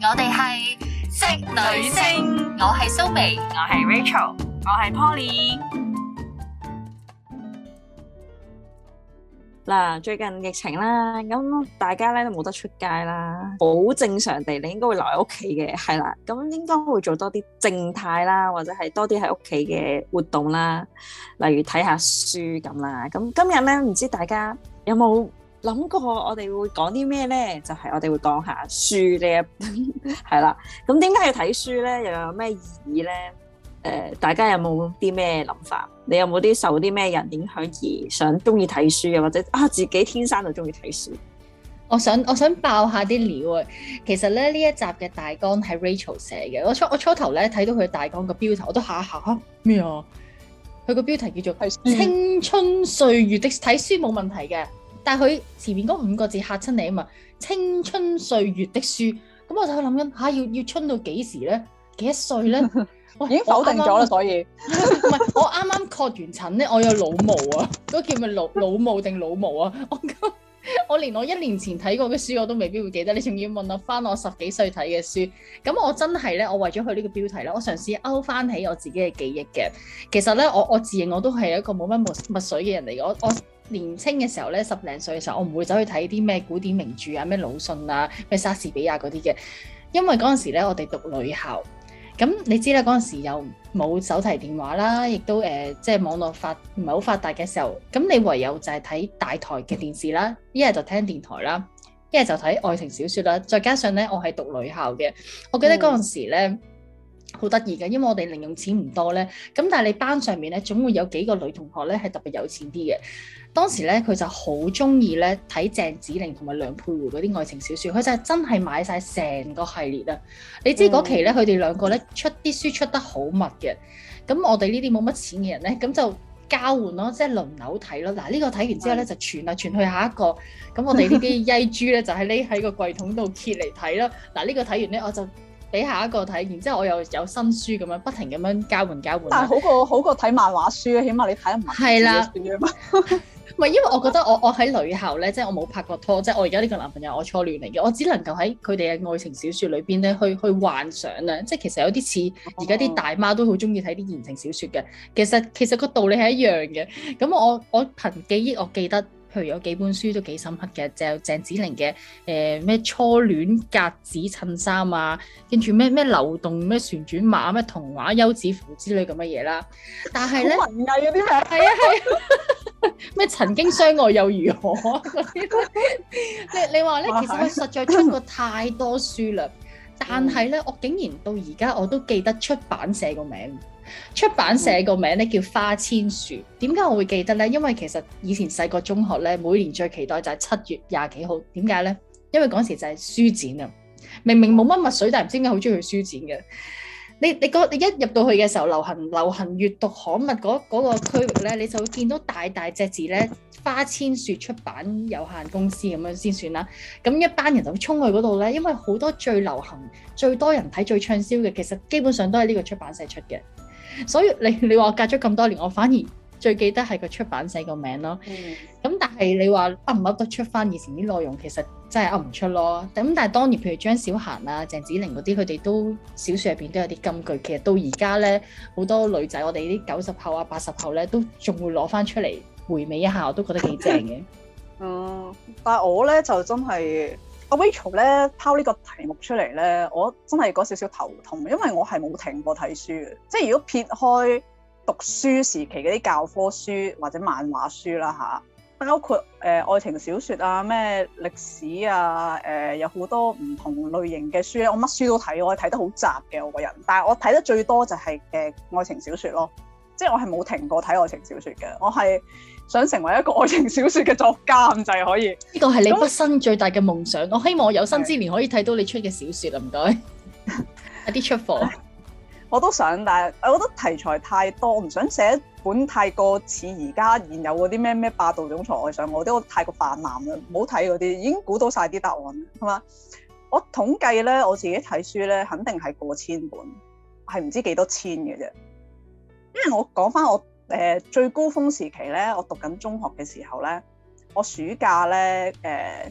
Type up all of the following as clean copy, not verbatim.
我哋係職女聲，我係蘇眉， 我係 Rachel， 我係 Poly。 嗱，最近疫情啦，咁大家咧都冇得出街啦，好正常地你應該會留喺屋企嘅，係啦，咁應該會做多啲靜態啦，或者係多啲喺屋企嘅活動啦，例如睇下書咁啦。咁今日咧，唔知大家有冇諗過我哋會講啲咩咧？就係我哋會講下書呢一係啦。咁點解要睇書咧？又有咩意義咧？大家有冇啲咩諗法？你有冇啲受啲咩人影響而想中意睇書嘅，或者自己天生就中意睇書？ 我想爆下啲料啊！其實咧呢一集嘅大綱係 Rachel 寫嘅。我初頭咧睇到佢大綱個標題，我都嚇咩啊？佢個標題叫做《青春歲月的睇書冇問題嘅》，但係佢前面嗰5個字嚇親你啊嘛！青春歲月的書，咁我就諗緊要春到幾時咧？幾多歲咧？ 已經否定咗啦，所以唔係我啱啱確完診咧，我有腦霧啊，嗰叫咩腦霧定腦霧啊？我連我1年前睇過嘅書我都未必會記得，你仲要問我翻我10幾歲睇嘅書？咁我真係咧，我為咗佢呢個標題咧，我嘗試勾翻起我自己嘅記憶嘅。其實咧，我自認我都係一個冇乜墨水嘅人嚟嘅。我年青嘅時候咧，10零歲嘅時候，我唔會走去睇啲咩古典名著啊，咩魯迅啊，咩莎士比亞嗰啲嘅，因為嗰陣時咧我哋讀女校。咁你知啦，嗰陣時又冇手提電話啦，亦都即係網絡唔係好發達嘅時候，咁你唯有就係睇大台嘅電視啦，一係就聽電台啦，一係就睇愛情小説啦。再加上咧，我係讀女校嘅，我記得嗰陣時咧好得意嘅，因為我哋零用錢唔多咧，咁但係你班上面咧總會有幾個女同學咧係特別有錢啲嘅。當時咧佢就好中意咧睇鄭梓靈同埋梁佩湖嗰啲愛情小説，佢就係真係買晒成個系列啊！你知嗰期咧佢哋兩個咧出啲書出得好密嘅，咁我哋呢啲冇乜錢嘅人咧，咁就交換咯，即係輪流睇咯。嗱，呢個睇完之後咧就傳嚟傳去下一個，咁我哋呢啲曳豬咧就係匿喺個櫃桶度揭嚟睇咯。嗱，呢個睇完咧我就俾下一個睇，然之後我又有新書咁樣不停咁樣交換。 但係好過睇漫畫書啊，起碼你睇得文字嘅書啊嘛。 唔係，因為我覺得我喺女校咧，即係我冇拍過拖，即係我而家呢個男朋友我初戀嚟嘅，我只能夠喺佢哋嘅愛情小説裏邊咧去幻想啊，即係其實有啲似而家啲大媽都好中意睇啲言情小説嘅，其實個道理係一樣嘅。咁我憑記憶我記得，譬如有幾本書都幾深刻嘅，就鄭梓靈嘅咩初戀格子襯衫啊，跟住咩流動咩旋轉馬咩童話休止符之類咁嘅嘢啦。但係咧， 文藝嗰啲咩？ 係啊。咩曾經相愛又如何你話咧，其實佢實在出過太多書啦，但係咧，我竟然到而家我都記得出版社個名。出版社個名咧叫花千樹。點解我會記得咧？因為其實以前細個中學咧，每年最期待就係7月20幾號。點解咧？因為嗰時就係書展啊！明明冇乜墨水，但係唔知點解好中意去書展嘅。你一入到去嘅時候，流行閱讀刊物嗰個區域咧，你就會見到大隻字咧，花千樹出版有限公司咁樣先算啦。咁一班人就會衝去嗰度咧，因為好多最流行、最多人睇、最暢銷嘅，其實基本上都係呢個出版社出嘅。所以你話隔咗咁多年，我反而最記得係個出版社個名咯。咁但係你話噏唔噏得出翻以前啲內容，其實真係噏唔出咯。咁但係當年譬如張小嫻啊、鄭梓靈嗰啲，佢哋都小説入邊都有啲金句。其實到而家咧，好多女仔，我哋啲90後啊、80後咧，都仲會攞翻出嚟回味一下，我都覺得幾正嘅。 但係我咧就真係阿 Rachel 咧拋呢個題目出嚟咧，我真係嗰少少頭痛，因為我係冇停過睇書嘅。即係如果撇開讀書時期嗰啲教科書或者漫畫書啦嚇，包括愛情小説啊、咩歷史啊、有好多唔同類型嘅書咧，我乜書都睇，我係睇得好雜嘅我個人。但係我睇得最多就係愛情小説咯，即係我係冇停過睇愛情小説嘅。我係想成為一個愛情小説嘅作家咁就係可以。呢個係你畢生最大嘅夢想。我希望我有生之年可以睇到你出嘅小説啊！唔該，有啲出貨。我都想，但係我覺得題材太多，我唔想寫一本太過似而家現有嗰啲咩霸道總裁愛上我啲，我太過泛濫啦，唔好睇嗰啲，已經估到晒啲答案，係嘛？我統計咧，我自己睇書咧，肯定係過千本，係唔知幾多千嘅啫。因為我講翻我最高峰時期咧，我讀緊中學嘅時候咧，我暑假咧嘅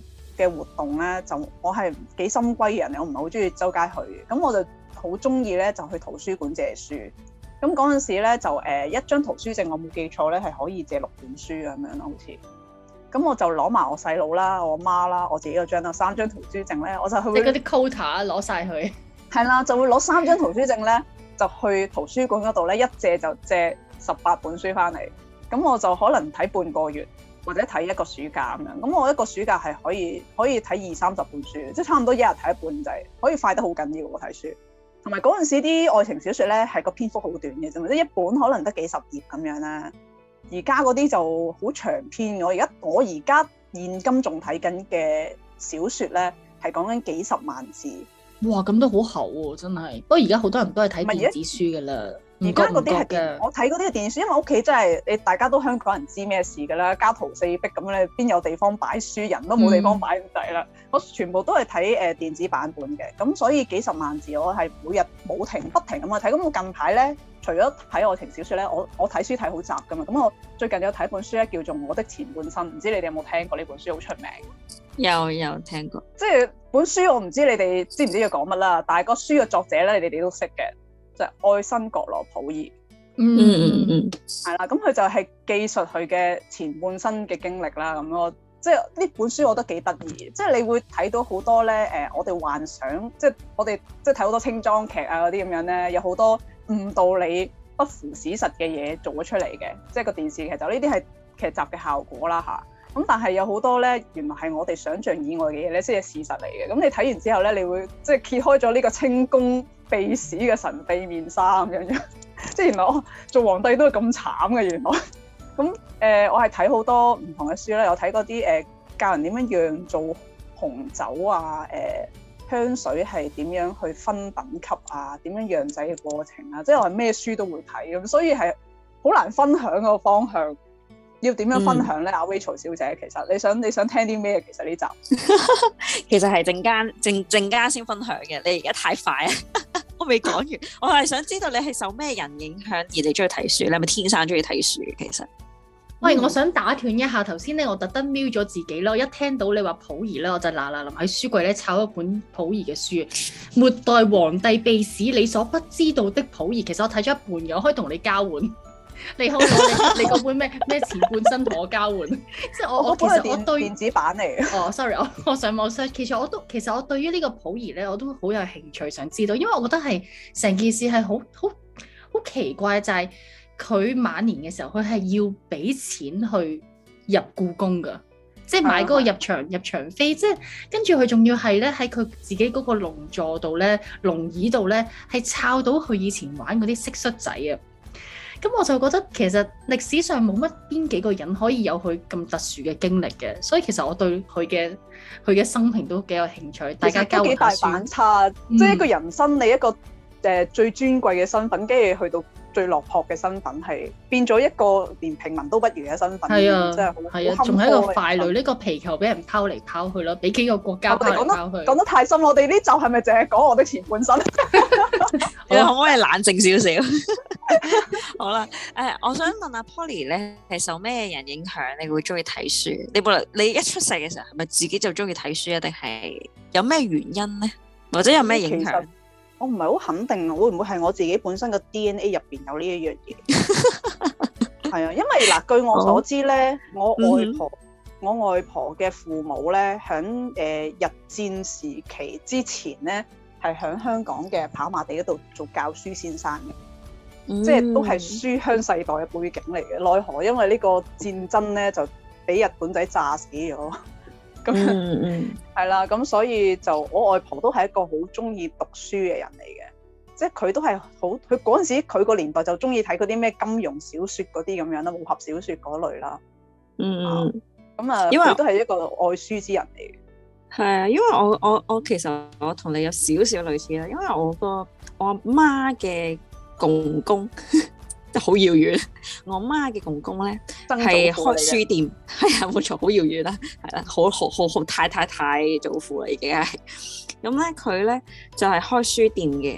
嘅活動咧，就我係幾深閨人，我唔係好中意周街去，咁我就好中意咧就去圖書館借書。咁嗰陣時咧就一張圖書證，我冇記錯咧係可以借6本書咁樣咯，好似。咁我就攞埋我細佬啦、我媽啦、我自己嗰張啦3張圖書證咧，我就去。 你嗰啲 quota 攞晒佢。係啦，就會攞3張圖書證咧，就去圖書館嗰度咧，一借就借18本書翻嚟。咁我就可能睇半個月，或者睇一個暑假咁樣。咁我一個暑假係可以睇20-30本書，即係差唔多一日睇一本，就係可以快得好緊要喎睇書。同埋嗰陣時啲愛情小説咧係個篇幅好短嘅啫嘛，即係一本可能得幾十頁咁樣啦。而家嗰啲就好長篇。我而家現今仲睇緊嘅小説咧係講緊幾十萬字。哇， 咁都好厚喎，真係。不過而家好多人都係睇電子書㗎啦。而家嗰啲係我睇嗰啲係電子書，因為屋企真係大家都香港人知咩事㗎啦，家徒四壁咁咧，邊有地方擺書，人都冇地方擺咁滯啦。我全部都係睇電子版本嘅，咁所以幾十萬字我係每日冇停不停咁去睇。咁我近排咧，除咗睇愛情小説咧，我睇書睇好雜㗎嘛。咁我最近有睇一本書咧，叫做《我的前半生》，唔知你哋有冇聽過呢本書？好出名。 有聽過。 即係本書我唔知你哋知唔知佢講乜啦，但係個書嘅作者咧，你哋都識嘅，就係愛新覺羅溥儀。係啦，咁佢就係記述佢嘅前半生嘅經歷啦。咁咯，即係呢本書我覺得幾得意，即係你會睇到好多咧我哋幻想，即係我哋即係睇好多清裝劇啊嗰啲咁樣咧，有好多誤導你不符史實嘅嘢做咗出嚟嘅，即係個電視劇就呢啲係劇集嘅效果啦嚇。咁但係有好多咧，原來係我哋想象以外嘅嘢咧，先係事實嚟嘅。咁你睇完之後咧，你會即係揭開咗呢個清宮秘史嘅神秘面紗咁樣，即係原來我做皇帝都係咁慘嘅原來。咁我係睇好多唔同嘅書啦，有睇嗰啲教人點樣釀造紅酒啊，香水係點樣去分等級啊，點樣釀製嘅過程啊，即係我係咩書都會睇咁，所以係好難分享個方向。要點樣分享咧？阿 Rachel 小姐，其實你想聽啲咩？其實呢集其實係陣間先分享嘅。你而家太快啊！我未講完，我係想知道你係受咩人影響而你中意睇書？你係咪天生中意睇書？其實， 喂，我想打斷一下頭先咧，我特登瞄咗自己咯。一聽到你話溥儀咧，我就嗱臨喺書櫃咧抄一本溥儀嘅書，《末代皇帝秘史：你所不知道的溥儀》。其實我睇咗一半嘅，我可以同你交換。你好，你嗰本咩前半生同我交換，即係我其實我對電子版嚟嘅。 哦，sorry，我上網 search，其實我對於呢個溥儀咧，我都好有興趣想知道，因為我覺得係成件事係好奇怪，就係佢晚年嘅時候，佢係要俾錢去入故宮㗎，即係買嗰個入場飛，即係跟住佢仲要係咧喺佢自己嗰個龍座度咧、龍椅度咧，係抄到佢以前玩嗰啲蟋蟀仔啊！咁我就覺得其實歷史上冇乜邊幾個人可以有佢咁特殊嘅經歷嘅，所以其實我對佢嘅生平都幾有興趣。大家交換下書。幾大反差，即係一個人生你一個最尊貴嘅身份，跟住去到最落魄嘅身份，係變咗一個連平民都不如嘅身份。係啊，真係好， 仲係一個傀儡，呢個皮球俾人拋嚟拋去咯，俾幾個國家拋嚟拋去。 講得太深，我哋呢集係咪淨係講我的前半生？ 你可唔可以冷靜少少？好啦，我想問阿 Polly 咧，係受咩人影響？你會中意睇書？你一出世嘅時候，係咪自己就中意睇書啊？定係有咩原因咧？或者有咩影響？ 我唔係好肯定，會唔會係我自己本身嘅 DNA 入邊有呢一樣嘢？係啊，因為嗱，據我所知咧，我外婆嘅父母咧，喺日戰時期之前咧，係喺香港嘅跑馬地嗰度做教書先生嘅，即係都係書香世代嘅背景嚟嘅。奈何因為呢個戰爭咧，就俾日本仔炸死咗。咁係啦，咁所以就我外婆都係一個好中意讀書嘅人嚟嘅，即係佢都係好，佢嗰陣時佢個年代就中意睇嗰啲咩金庸小説嗰啲咁樣啦，武俠小説嗰類啦。因為佢都係一個愛書之人嚟嘅。 係啊，因為我其實我同你有少少類似啦，因為我阿媽嘅公公。好遙遠，我媽嘅公公咧係開書店，係啊冇錯，好遙遠啦，係啦，好太祖父啦已經係，咁咧佢咧就係開書店嘅，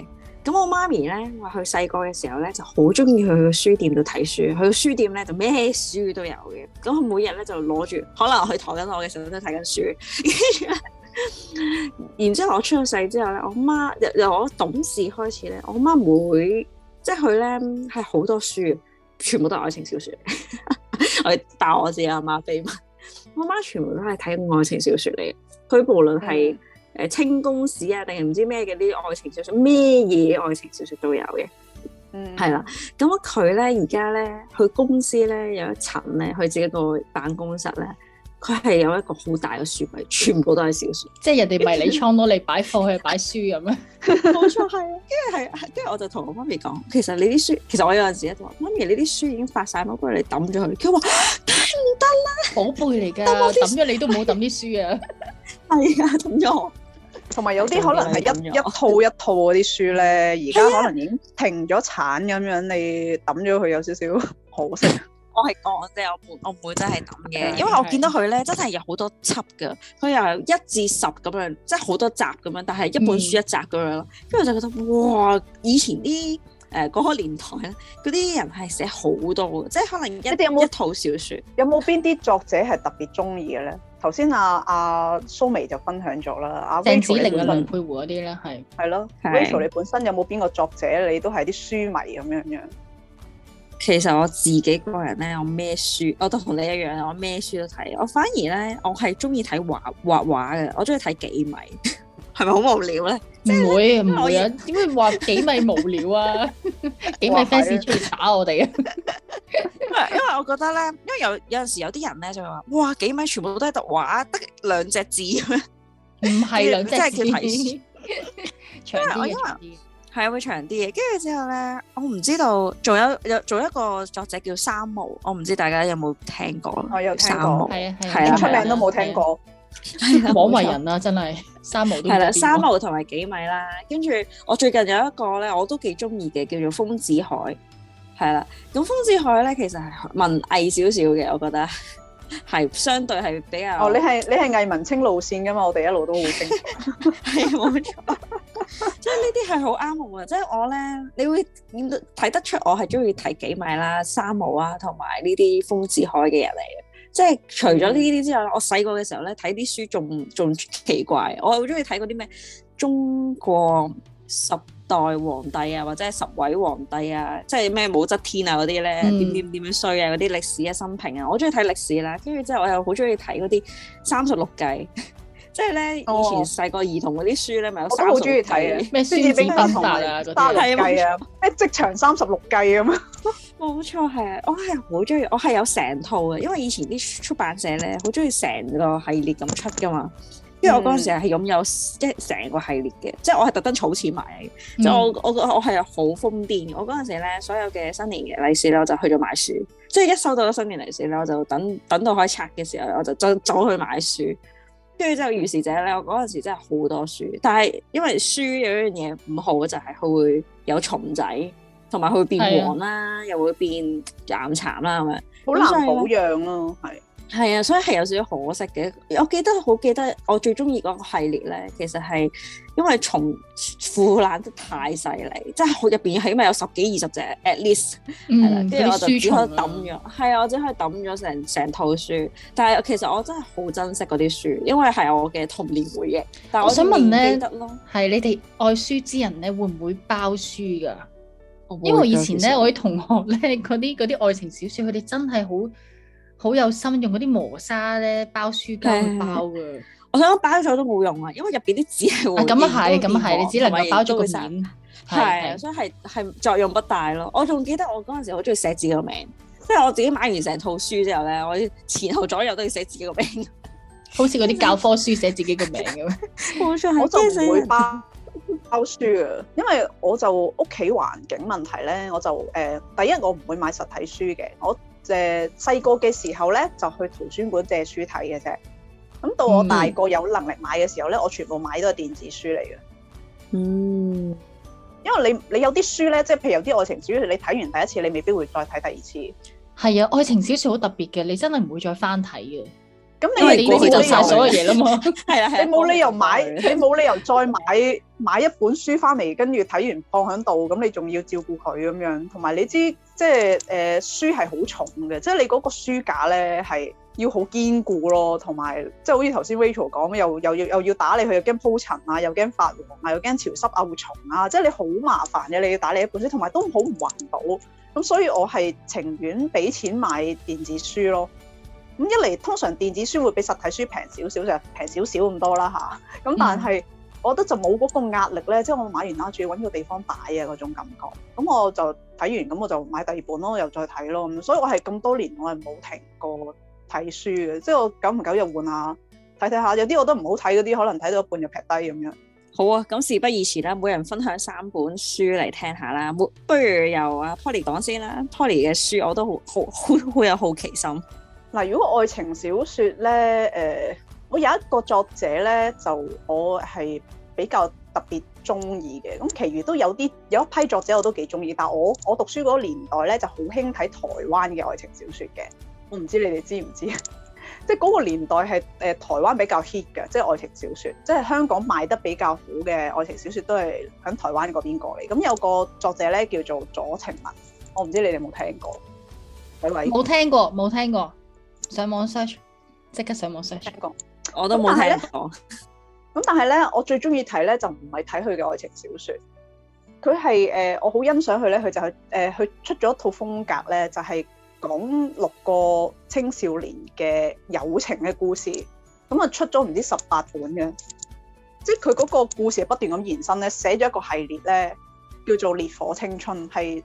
咁我媽咪咧話佢細個嘅時候咧就好中意去個書店度睇書，去個書店咧就咩書都有嘅。咁佢每日咧就攞住，可能佢抬緊我嘅時候都睇緊書。然之後我出咗世之後咧，我媽由我懂事開始咧，我媽即係佢咧係好多書，全部都係愛情小說。我爆我自己阿媽秘密，我媽全部都係睇愛情小說嚟嘅。佢無論係清宮史啊，定係唔知咩嘅啲愛情小說，咩嘢愛情小說都有嘅。係啦。咁佢咧而家咧，佢公司咧有一層咧，佢自己個辦公室咧。佢係有一個好大嘅書櫃，全部都係小說， 即係人哋迷你倉攞嚟擺貨，去擺書咁樣。 冇錯，係啊，跟住我就同我媽咪講，其實你啲書，其實我有陣時咧就話，媽咪你啲書已經發晒，不如你抌咗佢。佢話梗係唔得啦， 寶貝嚟㗎，抌咗你都唔好抌啲書啊。係啊，抌咗。 同埋有啲可能係一套一套嗰啲書咧，而家可能已經停咗產咁樣，你抌咗佢有少少可惜。 我係講啫，我唔會真係抌嘅，因為我見到佢咧真係有好多輯噶，佢由1至10咁樣，即係好多集咁樣，但係一本書一集咁樣咯。跟住我就覺得哇，以前啲嗰個年代咧，嗰啲人係寫好多嘅，即係可能一套小説。有冇邊啲作者係特別中意嘅咧？頭先阿蘇眉就分享咗啦，阿鄭子玲啊、梁佩湖嗰啲咧係咯。Rachel 你本身有冇邊個作者你都係啲書迷咁樣？ 其實我自己個人咧，我咩書我都同你一樣，我咩書都睇。我反而咧，我係中意睇畫畫嘅，我中意睇幾米，係咪好無聊咧？ 唔會啊？點會話幾米無聊啊？幾米 fans 出嚟打我哋啊！ 因為我覺得咧，因為有陣時有啲人咧就會話，哇，幾米全部都係讀畫，得2隻字咁樣， 唔係2隻字， 即係叫睇書長啲嘅。 係會長啲嘅，跟住之後咧，我唔知道，仲有一個作者叫三毛，我唔知大家有冇聽過？ 我有聽過， 三毛係啊， 出名都冇聽過， 廣為人啦，真係三毛都係啦，三毛同埋幾米啦，跟住我最近有一個咧，我都幾中意嘅，叫做豐子愷，係啦，咁豐子愷咧其實係文藝少少嘅，我覺得係相對係比較。 你係藝文青路線噶嘛？我哋一路都好清楚， 係冇錯。即係呢啲係好啱我嘅，即係我咧，你會睇得出我係中意睇幾米啦、三毛啊，同埋呢啲豐子愷嘅人嚟嘅。即係除咗呢啲之外，我細個嘅時候咧睇啲書仲奇怪，我好中意睇嗰啲咩中國10代皇帝啊，或者係10位皇帝啊，即係咩武則天啊嗰啲咧，點樣衰啊嗰啲歷史啊生平啊，我中意睇歷史啦。跟住之後我又好中意睇嗰啲36計。即係咧，以前細個兒童嗰啲書咧，咪有36計。我都好中意睇嘅，咩孫子兵法啊，嗰啲36計啊，咩職場36計咁啊。冇錯，係啊，我係好中意，我係有成套嘅，因為以前啲出版社咧好中意成個系列咁出噶嘛。因為我嗰陣時係擁有成個系列嘅，即係我係特登儲錢買嘅。即係我係好瘋癲。我嗰陣時咧，所有嘅新年嘅利是咧，我就去咗買書。即係一收到咗新年利是咧，我就等到可以拆嘅時候，我就走去買書。跟住之後，如是者咧，我嗰陣時真係好多書，但係因為書有一樣嘢唔好嘅就係佢會有蟲仔，同埋佢會變黃啦，又會變岩殘啦咁樣，好難保養咯，係啊，所以係有少少可惜嘅。我好記得我最中意嗰個系列咧，其實係因為蟲腐爛得太犀利，即係入邊起碼有10幾20隻 at least， 係啦，跟住我就只可以抌咗，係啊，我只可以抌咗成套書。但係其實我真係好珍惜嗰啲書，因為係我嘅童年回憶。但係我想問咧，係你哋愛書之人咧，會唔會包書㗎？因為以前咧，我啲同學咧，嗰啲愛情小說，佢哋真係好有心，用嗰啲磨砂咧包書膠去包㗎。我想講包咗都冇用啊，因為入邊啲紙係會咁啊係，你只能夠包咗個面，係，所以係作用不大咯。我仲記得我嗰陣時好中意寫自己個名，即係我自己買完成套書之後咧，我前後左右都要寫自己個名，好似嗰啲教科書寫自己個名咁。冇錯，我就唔會包書啊，因為我就屋企環境問題咧，我就第一我唔會買實體書嘅，我細個嘅時候咧就去圖書館借書睇嘅啫。咁到我大個有能力買嘅時候咧，我全部買都係電子書嚟嘅。因為你有啲書咧，即係譬如有啲愛情小說，你睇完第一次，你未必會再睇第二次。係啊，愛情小說好特別嘅，你真係唔會再翻睇嘅。 咁你已經知道晒所有嘢啦嘛。 係啊， 你冇理由買，你冇理由再買一本書翻嚟，跟住睇完放喺度，咁你仲要照顧佢咁樣。同埋你知，即係書係好重嘅，即係你嗰個書架咧係要好堅固咯，同埋即係好似頭先 Rachel 講，又要打理佢，又驚鋪塵啊，又驚發黃啊，又驚潮濕漚蟲啊，即係你好麻煩嘅，你要打理一本書，同埋都好唔環保。咁所以我係情願俾錢買電子書咯。咁一嚟通常電子書會比實體書平少少，就平少少咁多啦嚇。咁但係我覺得就冇嗰個壓力咧，即係我買完啦，仲要揾個地方擺啊嗰種感覺。咁我就睇完，咁我就買第二本咯，又再睇咯。咁所以我係咁多年我係冇停過睇書嘅，即係我久唔久又換下睇下，有啲我都唔好睇嗰啲，可能睇到一半就劈低咁樣。 好啊，咁事不宜遲啦，每人分享3本書嚟聽下啦。不如由阿 Polly 講先啦。Polly 嘅書我都好有好奇心。 嗱，如果愛情小説咧，我有一個作者咧，就我係比較特別中意嘅。咁，其餘都有一批作者我都幾中意，但係我讀書嗰個年代咧就好興睇台灣嘅愛情小説嘅。我唔知你哋知唔知？即係嗰個年代係台灣比較 hit 嘅，即係愛情小説。即係香港賣得比較好嘅愛情小説都係喺台灣嗰邊過嚟。咁有個作者咧叫做左晴雯，我唔知你哋有冇聽過？ 冇聽過。上網 search， 即刻上網 search。 我都冇聽過。 咁但係咧，我最中意睇咧就唔係睇佢嘅愛情小説，佢係我好欣賞佢咧，佢就係佢出咗一套風格咧，就係講6個青少年嘅友情嘅故事。咁啊出咗唔知18本嘅，即係佢嗰個故事係不斷咁延伸咧，寫咗一個系列咧，叫做《烈火青春》，係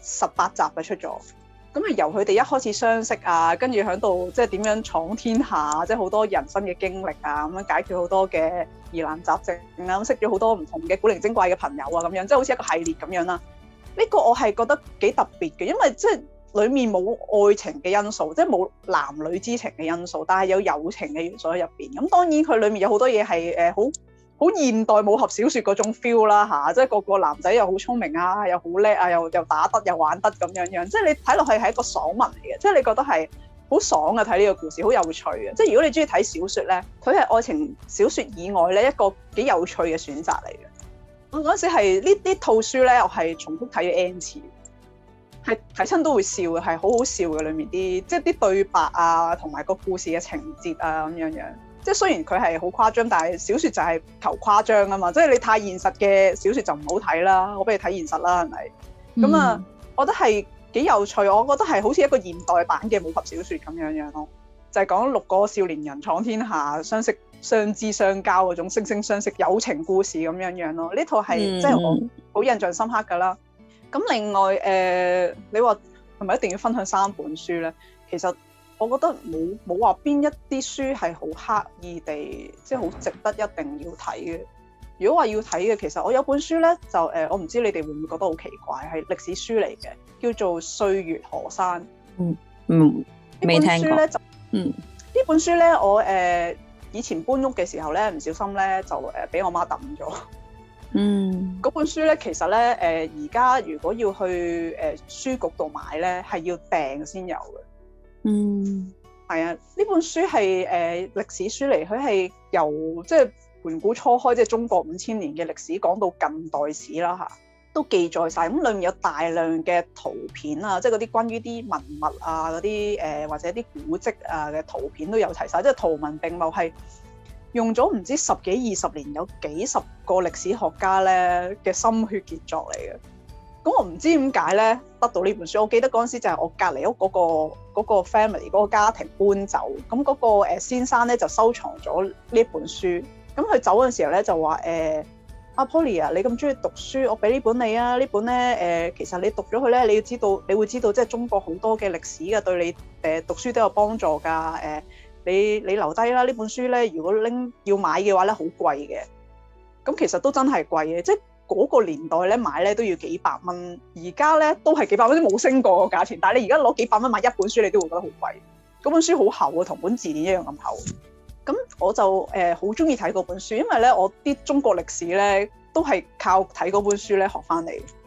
18集嘅出咗。咁啊，由佢哋一開始相識啊，跟住喺度即係點樣闖天下，即係好多人生嘅經歷啊，咁樣解決好多嘅疑難雜症啊，咁識咗好多唔同嘅古靈精怪嘅朋友啊，咁樣即係好似一個系列咁樣啦。呢個我係覺得幾特別嘅，因為即係裡面冇愛情嘅因素，即係冇男女之情嘅因素，但係有友情嘅元素喺入邊。咁當然佢裡面有好多嘢係好現代武俠小説嗰種 feel 啦嚇，即係個男仔又好聰明啊，又好叻啊，又打得又玩得咁樣樣，即係你睇落去係一個爽文嚟嘅，即係你覺得係好爽嘅睇呢個故事，好有趣嘅。即係如果你中意睇小説咧，佢係愛情小説以外咧一個幾有趣嘅選擇嚟嘅。我嗰陣時係呢套書咧，我係重複睇咗 N 次，係睇親都會笑嘅，係好好笑嘅。裡面啲即係啲對白啊，同埋個故事嘅情節啊咁樣樣。即係雖然佢係好誇張，但係小説就係求誇張啊嘛！即係你太現實嘅小説就唔好睇啦，我俾你睇現實啦，係咪？咁啊，我覺得係幾有趣，我覺得係好似一個現代版嘅武俠小説咁樣樣咯，就係講6個少年人闖天下、相識、相知、相交嗰種惺惺相惜友情故事咁樣樣咯。呢套係即係我好印象深刻㗎啦。咁另外你話係咪一定要分享3本書咧？其實我覺得冇話邊一啲書係好刻意地，即係好值得一定要睇嘅。如果話要睇嘅，其實我有本書咧，就我唔知你哋會唔會覺得好奇怪，係歷史書嚟嘅，叫做《歲月河山》。未聽過。呢本書咧，我以前搬屋嘅時候咧，唔小心咧就俾我媽抌咗。嗰本書咧，其實咧而家如果要去書局度買咧，係要訂先有嘅。係啊，呢本書係歷史書嚟，佢係由即係盤古初開，即係中國5000年嘅歷史講到近代史啦嚇，都記載晒。咁裡面有大量嘅圖片啊，即係嗰啲關於啲文物啊嗰啲或者啲古蹟啊嘅圖片都有齊晒，即係圖文並茂，係用咗唔知10幾20年，有幾十個歷史學家咧嘅心血傑作嚟嘅。咁我唔知點解咧得到呢本書，我記得嗰陣時就係我隔離屋嗰個 family 嗰個家庭搬走，咁嗰個先生咧就收藏咗呢本書。咁佢走嘅時候咧就話阿 Polly 啊，你咁中意讀書，我俾呢本你啊。呢本咧其實你讀咗佢咧，你會知道即係中國好多嘅歷史嘅，對你讀書都有幫助㗎。你留低啦，呢本書咧，如果要買嘅話咧，好貴嘅。咁其實都真係貴嘅，即係嗰個年代咧買咧都要幾百蚊，而家咧都係幾百蚊，都冇升過個價錢。但係你而家攞幾百蚊買一本書，你都會覺得好貴。嗰本書好厚啊，同本字典一樣咁厚。咁我就好中意睇嗰本書，因為咧我啲中國歷史咧都係靠睇嗰本書咧學翻嚟。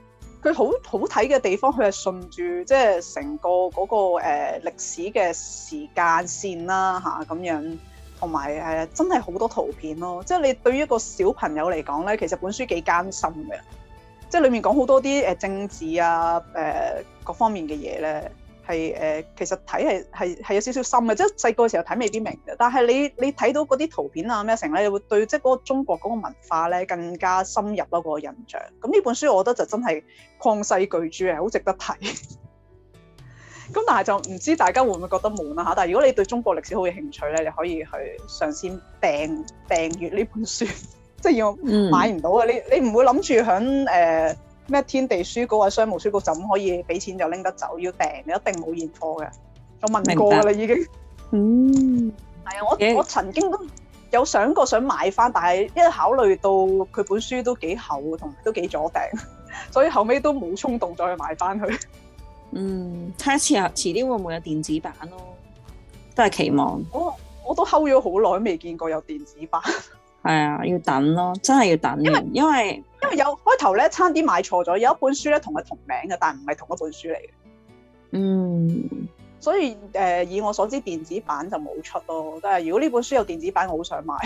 佢好睇嘅地方，佢係順住即係成個嗰個歷史嘅時間線啦嚇咁樣，同埋真係好多圖片咯。即係你對於一個小朋友嚟講咧，其實本書幾艱辛嘅，即係裡面講好多啲政治啊各方面嘅嘢咧。係其實睇係有少少深嘅，即係細個時候睇未必明嘅，但係你睇到嗰啲圖片啊咩成咧，你會對即係嗰個中國嗰個文化咧更加深入咯，嗰個印象。咁呢本書我覺得就真係曠世巨著，係好值得睇。咁但係就唔知大家會唔會覺得悶啊嚇？但係如果你對中國歷史好有興趣咧，你可以去嘗試訂閱呢本書，即係要買唔到嘅。你唔會諗住響咩天地書局啊、商務書局就咁可以俾錢就拎得走，要訂你一定冇現貨嘅。我問過啦已經。係啊，我曾經都有想過想買翻，但係一考慮到佢本書都幾厚同埋都幾阻訂，所以後尾都冇衝動再去買翻佢。 睇下遲啲會唔會有電子版咯，都係期望。 我都睺咗好耐，未見過有電子版。 係啊，要等咯，真係要等。因為有開頭咧，差啲買錯咗，有一本書咧同佢同名嘅，但唔係同一本書嚟嘅。所以以我所知，電子版就冇出咯。但係如果呢本書有電子版，我好想買。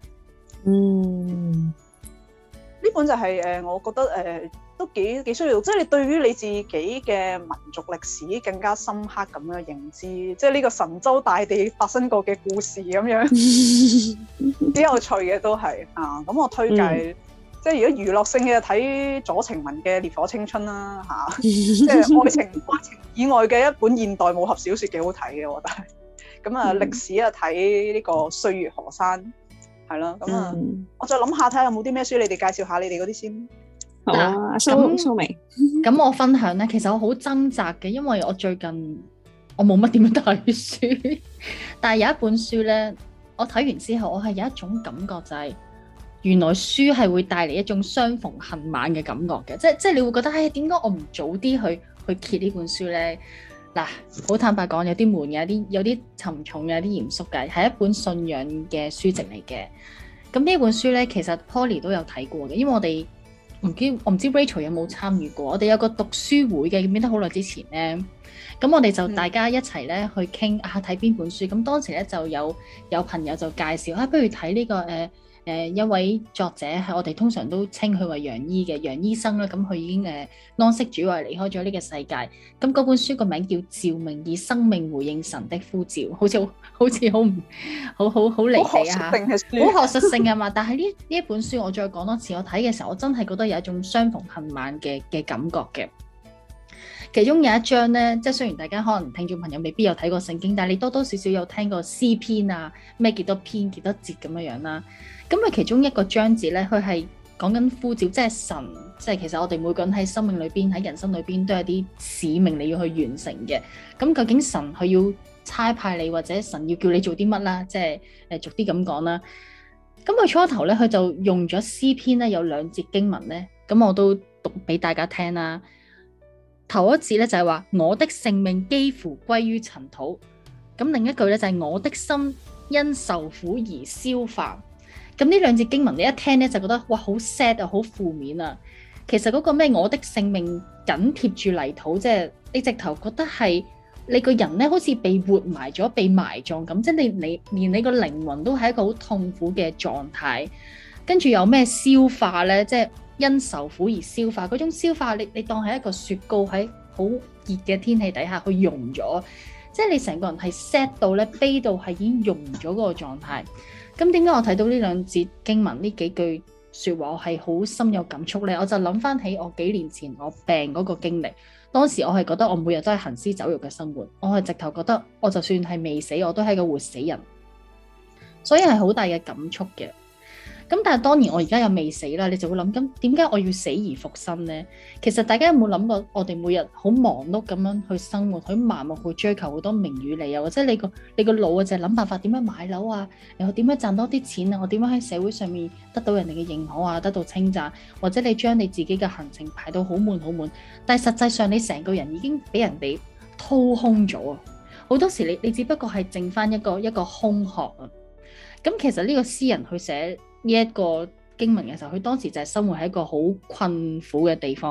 呢本就係我覺得都幾需要，即係你對於你自己嘅民族歷史更加深刻咁樣認知，即係呢個神州大地發生過嘅故事咁樣，幾有趣嘅都係啊！咁我推介，即係如果娛樂性嘅睇左晴雯嘅《烈火青春》啦嚇，即係愛情以外嘅一本現代武俠小説幾好睇嘅，我覺得係。咁啊，歷史啊睇呢個《歲月河山》係咯，咁啊，我再諗下睇下有冇啲咩書，你哋介紹下你哋嗰啲先。 好啊，蘇眉。 咁我分享咧，其實我好掙扎嘅，因為我最近我冇乜點樣睇書，但係有一本書咧，我睇完之後，我係有一種感覺，就係原來書係會帶嚟一種相逢恨晚嘅感覺嘅，即係你會覺得，唉，點解我唔早啲去揭呢本書咧？嗱，好坦白講，有啲悶嘅，有啲沉重嘅，有啲嚴肅嘅，係一本信仰嘅書籍嚟嘅。咁呢本書咧，其實 Poly 都有睇過嘅，因為我唔知 Rachel 有冇參與過，我哋有個讀書會嘅，記唔記得好耐之前咧？咁我哋就大家一齊咧去傾睇邊本書。咁當時咧就有朋友就介紹不如睇呢個一位作者係我哋通常都稱佢為楊醫嘅楊醫生啦。咁佢已經安息主懷離開咗呢個世界。咁嗰本書個名叫《召命以生命回應神的呼召》，好似好離地啊，好學術性啊嘛。但係呢一本書我再講多次，我睇嘅時候我真係覺得有一種相逢恨晚嘅感覺嘅。其中有一章咧，即係雖然大家可能聽眾朋友未必有睇過聖經，但係你多多少少有聽過詩篇啊，咩幾多篇幾多節咁樣啦。咁佢其中一個章節咧，佢係講緊呼召，即係神，即係其實我哋每個人喺生命裏邊、喺人生裏邊都有啲使命你要去完成嘅。咁究竟神佢要差派你，或者神要叫你做啲乜啦？即係逐啲咁講啦。咁佢初頭咧，佢就用咗詩篇咧，有2節經文咧，咁我都讀俾大家聽啦。頭一節咧就係話我的性命幾乎歸於塵土，咁另一句咧就係我的心因受苦而消化。咁呢2節經文你一聽咧就覺得哇好 sad 啊，好負面啊。其實嗰個咩我的性命緊貼住泥土，即係你直頭覺得係你個人咧好似被活埋咗、被埋葬咁，即係你連你個靈魂都係一個好痛苦嘅狀態。跟住有咩消化咧？即係因受苦而消化，嗰種消化你當係一個雪糕喺好熱嘅天氣底下去溶咗，即係你成個人係 sad 到咧，悲到係已經溶咗嗰個狀態。咁點解我睇到呢2節經文呢幾句説話，我係好深有感觸咧？我就諗翻起我幾年前我病嗰個經歷，當時我係覺得我每日都係行屍走肉嘅生活，我係直頭覺得我就算係未死，我都係個活死人，所以係好大嘅感觸嘅。咁但係當然我而家又未死啦，你就會諗，咁點解我要死而復生呢？其實大家有冇諗過，我哋每日好忙碌咁樣去生活，好盲目去追求好多名與利啊，或者你個腦啊就係諗辦法點樣買樓啊，然後點樣賺多啲錢啊，我點樣喺社會上面得到人哋嘅認可啊，得到稱讚，或者你將你自己嘅行程排到好滿好滿，但係實際上你成個人已經俾人哋掏空咗啊！好多時你只不過係剩翻一個空殼啊！咁其實呢個詩人去寫呢一個經文嘅時候，佢當時就係生活喺一個好困苦嘅地方，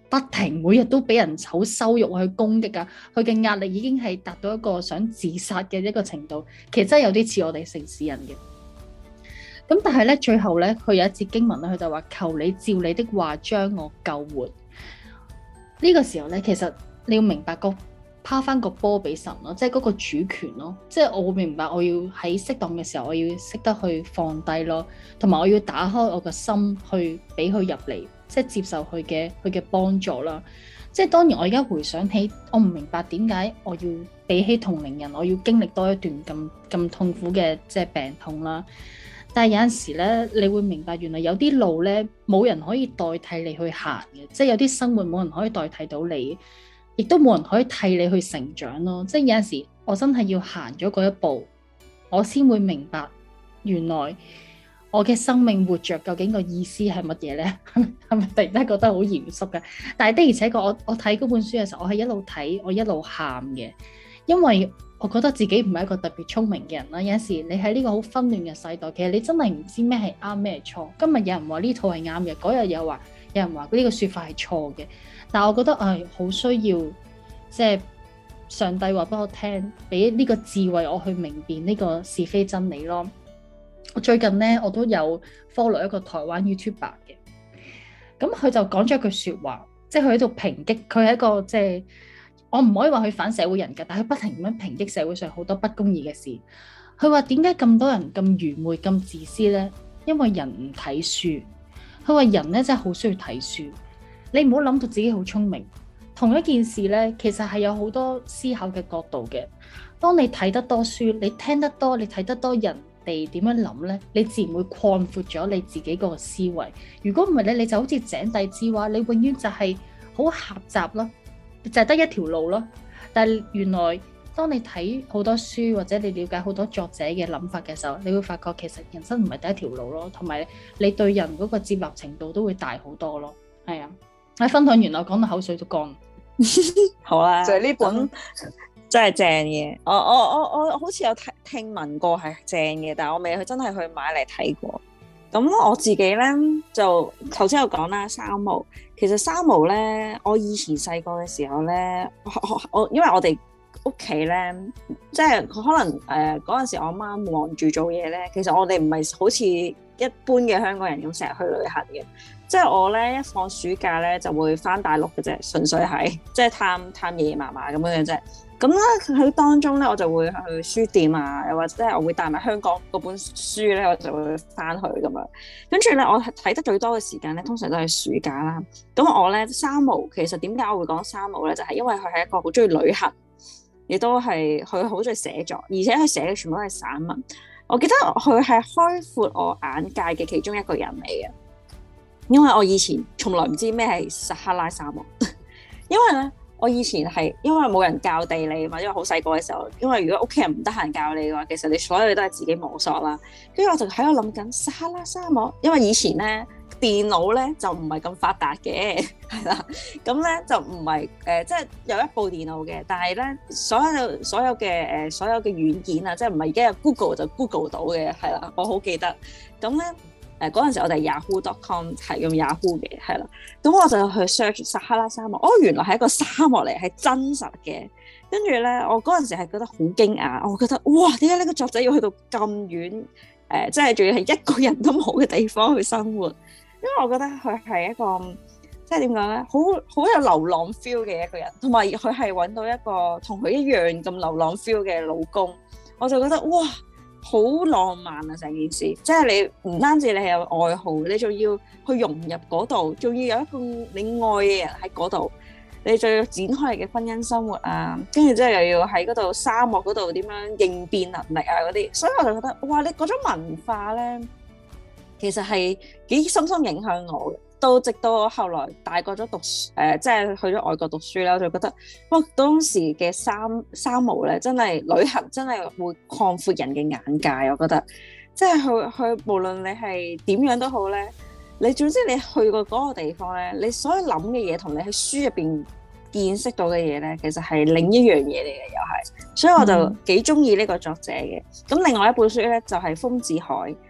不停每日都俾人好羞辱去攻擊啊，佢嘅壓力已經係達到一個想自殺嘅一個程度，其實真係有啲似我哋城市人嘅。咁但係咧，最後咧，佢有一節經文咧，佢就話：求你照你的話將我救活。呢個時候咧，其實你要明白拋翻個波俾神咯，即係嗰個主權咯。即係我會明白，我要喺適當嘅時候，我要識得去放低咯，同埋我要打開我個心去俾佢入嚟，即係接受佢嘅幫助啦。即係當然，我而家回想起，我唔明白點解我要比起同齡人，我要經歷多一段咁痛苦嘅即係病痛啦。但係有陣時咧，你會明白原來有啲路咧，冇人可以代替你去行嘅，即係有啲生活冇人可以代替到你，亦都冇人可以替你去成長咯。即係有陣時，我真係要行咗嗰一步，我先會明白原來我嘅生命活着究竟個意思係乜嘢咧？係咪突然間覺得好嚴肅嘅？但係的而且確，我睇嗰本書嘅時候，我係一路睇，我一路喊嘅，因為我覺得自己唔係一個特別聰明嘅人啦。有陣時你喺呢個好紛亂嘅世代，其實你真係唔知咩係啱咩係錯。今日有人話呢套係啱嘅，嗰日有人話呢個説法係錯嘅。但係我覺得好需要即係上帝話俾我聽，俾呢個智慧我去明辨呢個是非真理咯。我最近咧我都有 follow 一個台灣 YouTuber 嘅，咁佢就講咗一句説話，即係佢喺度抨擊，佢係一個即係。我唔可以話佢反社會人格，但係佢不停咁樣抨擊社會上好多不公義嘅事。佢話點解咁多人咁愚昧、咁自私呢？因為人唔睇書。佢話人咧真係好需要睇書。你唔好諗到自己好聰明。同一件事咧，其實係有好多思考嘅角度嘅。當你睇得多書，你聽得多，你睇得多人哋點樣諗咧，你自然會擴闊咗你自己嗰個思維。如果唔係咧，你就好似井底之蛙，你永遠就係好狹窄咯。就係得一條路咯，但係原來當你睇好多書或者你了解好多作者嘅諗法嘅時候，你會發覺其實人生唔係第一條路咯，同埋你對人嗰個接納程度都會大好多咯。係啊，我分享完我講到口水都乾。 好啦， 就係呢本真係正嘅。我好似有聽聞過係正嘅，但係我未真係去買嚟睇過。咁我自己咧就頭先有講啦，三毛。其實三毛咧，我以前細個嘅時候咧，我因為我哋屋企咧，即係可能嗰陣時我媽忙住做嘢咧，其實我哋唔係好似一般嘅香港人咁成日去旅行嘅。即係我咧一放暑假咧就會返大陸嘅啫，純粹係即係探爺爺嫲嫲咁樣嘅啫。咁咧喺當中咧，我就會去書店啊，又或者我會帶埋香港嗰本書咧，我就會翻去咁樣。跟住咧，我睇得最多嘅時間咧，通常都係暑假啦。咁我咧三毛，其實點解我會講三毛咧？就係因為佢係一個好中意旅行，亦都係佢好中意寫作，而且佢寫嘅全部都係散文。我記得佢係開闊我眼界嘅其中一個人嚟嘅，因為我以前從來唔知咩係撒哈拉沙漠，因為咧。我以前係因為冇人教地理嘛，因為好細個嘅時候，因為如果屋企人唔得閒教你嘅話，其實你所有嘢都係自己摸索啦。跟住我就喺度諗緊撒哈拉沙漠，因為以前咧電腦咧就唔係咁發達嘅，係啦，咁咧就唔係即係有一部電腦嘅，但係咧所有嘅軟件啊，即係唔係而家有 Google 就 Google 到嘅，係啦，我好記得。咁咧。嗰陣時我哋 Yahoo.com 係用 Yahoo 嘅，係啦，咁我就去 search 撒哈拉沙漠，原來係一個沙漠嚟，係真實嘅。跟住咧，我嗰陣時係覺得好驚訝，我覺得哇，點解呢個作者要去到咁遠？即係仲要係一個人都冇嘅地方去生活，因為我覺得佢係一個即係點講咧，好有流浪 feel 嘅一個人，同埋佢係揾到一個同佢一樣咁流浪 feel 嘅老公，我就覺得哇！好浪漫啊！成件事，即係你唔單止你係有愛好，你仲要去融入嗰度，仲要有一個你愛嘅人喺嗰度，你仲要展開你嘅婚姻生活啊，跟住之後又要喺嗰度沙漠嗰度點樣應變能力啊嗰啲，所以我就覺得哇！你嗰種文化咧，其實係幾深深影響我嘅。到直到我後來大個咗讀即係去咗外國讀書啦，我就覺得哇！當時嘅三毛咧，真係旅行真係會擴闊人嘅眼界。我覺得即係去無論你係點樣都好咧，你總之你去過嗰個地方咧，你所有諗嘅嘢同你喺書入邊見識到嘅嘢咧，其實係另一樣嘢嚟嘅，又係。所以我就幾中意呢個作者嘅。咁另外一本書咧就係豐子愷。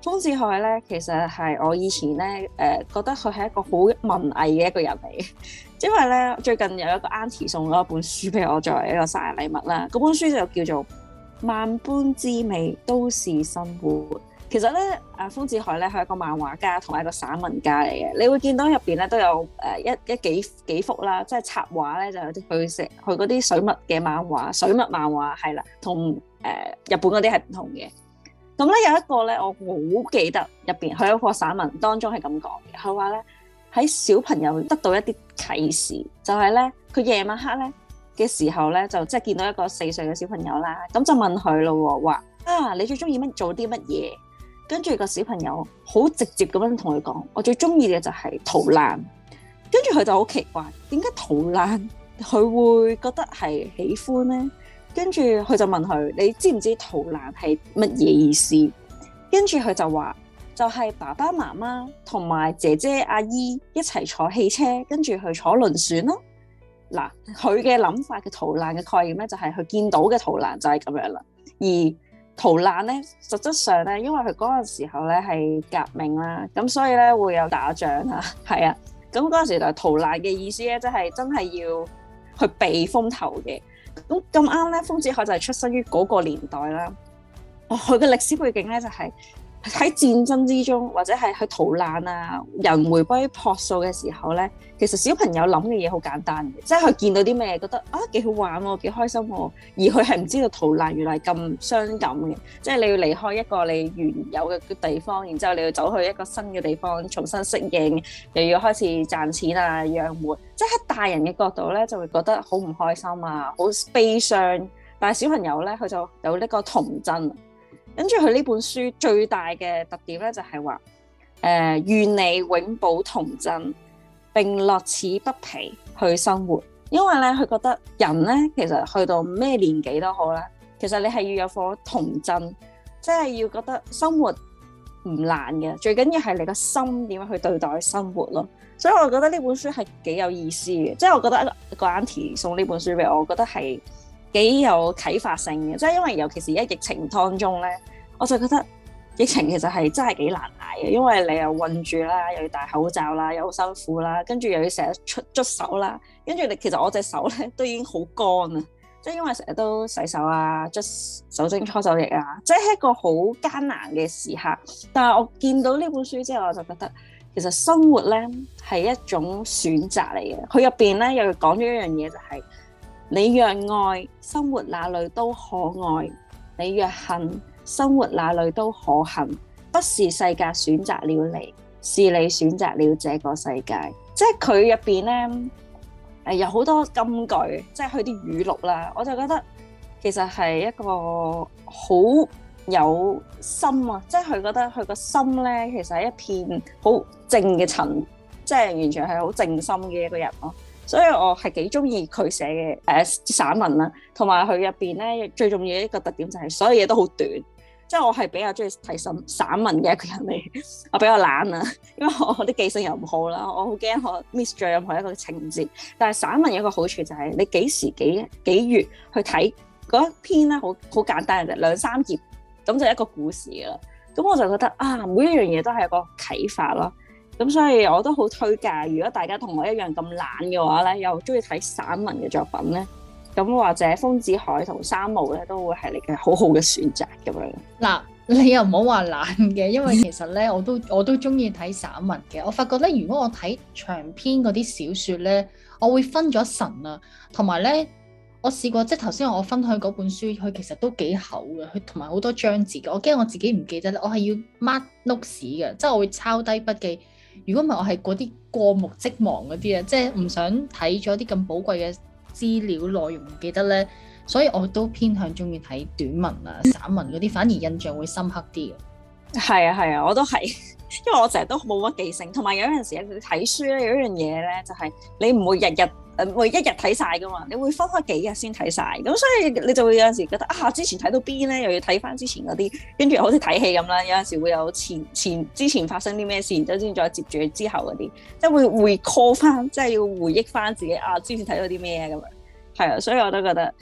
豐子愷咧，其實係我以前咧覺得佢係一個好文藝嘅一個人嚟嘅，因為咧最近有一個 auntie 送咗一本書俾我作為一個生日禮物啦。嗰本書就叫做《萬般滋味都是生活》。其實咧，豐子愷咧係一個漫畫家同埋一個散文家嚟嘅。你會見到入邊咧都有幾幅啦，即係插畫咧就有啲佢嗰啲水墨嘅漫畫，水墨漫畫係啦，同日本嗰啲係唔同嘅。咁咧有一個咧，我好記得入邊佢有一個散文當中係咁講嘅，佢話咧喺小朋友得到一啲啟示，就係咧佢夜晚黑咧嘅時候咧，就即係見到一個4歲嘅小朋友啦，咁就問佢咯，話你最中意做啲乜嘢？跟住個小朋友好直接咁樣同佢講，我最中意嘅就係逃難。跟住佢就好奇怪，點解逃難佢會覺得係喜歡呢？跟住佢就問佢，你知唔知逃難係乜嘢意思？跟住佢就話，就係爸爸媽媽同埋姐姐阿姨一齊坐汽車，跟住去坐輪船咯。嗱，佢嘅諗法嘅逃難嘅概念咧，就係佢見到嘅逃難就係咁樣啦。而逃難咧，實質上咧，因為佢嗰陣時候咧係革命啦，咁所以咧會有打仗啊，係啊，咁嗰陣時就逃難嘅意思咧，即係真係要去避風頭嘅。咁啱咧，豐子愷就係出生於嗰個年代啦。佢嘅歷史背景咧就係喺戰爭之中，或者係去逃難啊，人回歸樸素嘅時候咧，其實小朋友諗嘅嘢好簡單嘅，即係佢見到啲咩覺得幾好玩喎，幾開心喎，而佢係唔知道逃難原來係咁傷感嘅，即係你要離開一個你原有嘅地方，然之後你要走去一個新嘅地方重新適應，又要開始賺錢啊養活，即係喺大人嘅角度咧就會覺得好唔開心啊，好悲傷，但係小朋友咧佢就有呢個童真。跟住佢呢本書最大嘅特點咧就係話，願你永保童真，並樂此不疲去生活。因為咧佢覺得人咧其實去到咩年紀都好啦，其實你係要有顆童真，即係要覺得生活唔難嘅，最緊要係你個心點樣去對待生活咯。所以我覺得呢本書係幾有意思嘅，即係我覺得一個 auntie 送呢本書俾我，我覺得係幾有啟發性嘅，即係因為尤其是而家疫情當中咧，我就覺得疫情其實係真係幾難捱嘅，因為你又韞住啦，又要戴口罩啦，又好辛苦啦，跟住又要成日捽手啦，跟住你其實我隻手咧都已經好乾啊，即係因為成日都洗手啊，捽酒精搓手液啊，即係一個好艱難嘅時刻。但係我見到呢本書之後，我就覺得其實生活咧係一種選擇嚟嘅。佢入邊咧又講咗一樣嘢，就係你若愛，生活哪裡都可愛；你若恨，生活哪裡都可恨。不是世界選擇了你，是你選擇了這個世界。即係佢入邊咧，有好多金句，即係佢啲語錄啦。我就覺得其實係一個好有心啊！即係佢覺得佢個心咧，其實係一片好靜嘅塵，即係完全係好靜心嘅一個人咯。所以我係幾中意佢寫嘅散文啦，同埋佢入邊咧最重要嘅一個特點就係所有嘢都好短，即係我係比較中意睇散文嘅一個人嚟，我比較懶啊，因為我啲記性又唔好啦，我好驚我 miss 咗任何一個情節。但係散文有一個好處就係你幾時幾月去睇嗰一篇咧，好簡單嘅啫，2-3頁咁就一個故事㗎啦。咁我就覺得每一樣嘢都係一個啟發咯。咁所以我都好推介，如果大家同我一樣咁懶嘅話咧，又中意睇散文嘅作品咧，咁或者豐子愷同三毛咧，都會係你嘅好好嘅選擇咁樣。 嗱，你又唔好話懶嘅，因為其實咧，我都中意睇散文嘅。我發覺咧，如果我睇長篇嗰啲小説咧，我會分咗神啊，同埋咧，我試過即係頭先我分享嗰本書，佢其實都幾厚嘅，佢同埋好多章節嘅。我驚我自己唔記得咧，我係要 mark notes 嘅，即係我會抄低筆記。如果唔係，我係嗰啲過目即忘嗰啲啊，即係唔想睇咗啲咁寶貴嘅資料內容唔記得咧，所以我都偏向中意睇短文啊、散文嗰啲，反而印象會深刻啲嘅。 係啊，我都係，因為我成日都冇乜記性，同埋有陣時你睇書咧，有一樣嘢咧，就係你唔會每一日睇晒噶嘛，你會分開幾日先睇晒，咁所以你就會有陣時覺得之前睇到邊咧，又要睇翻之前嗰啲，跟住好似睇戲咁啦，有陣時會有之前發生啲咩事，然之後先再接住之後嗰啲，即係會 recall 翻，即係要回憶翻自己之前睇到啲咩咁樣，係啊，所以我都覺得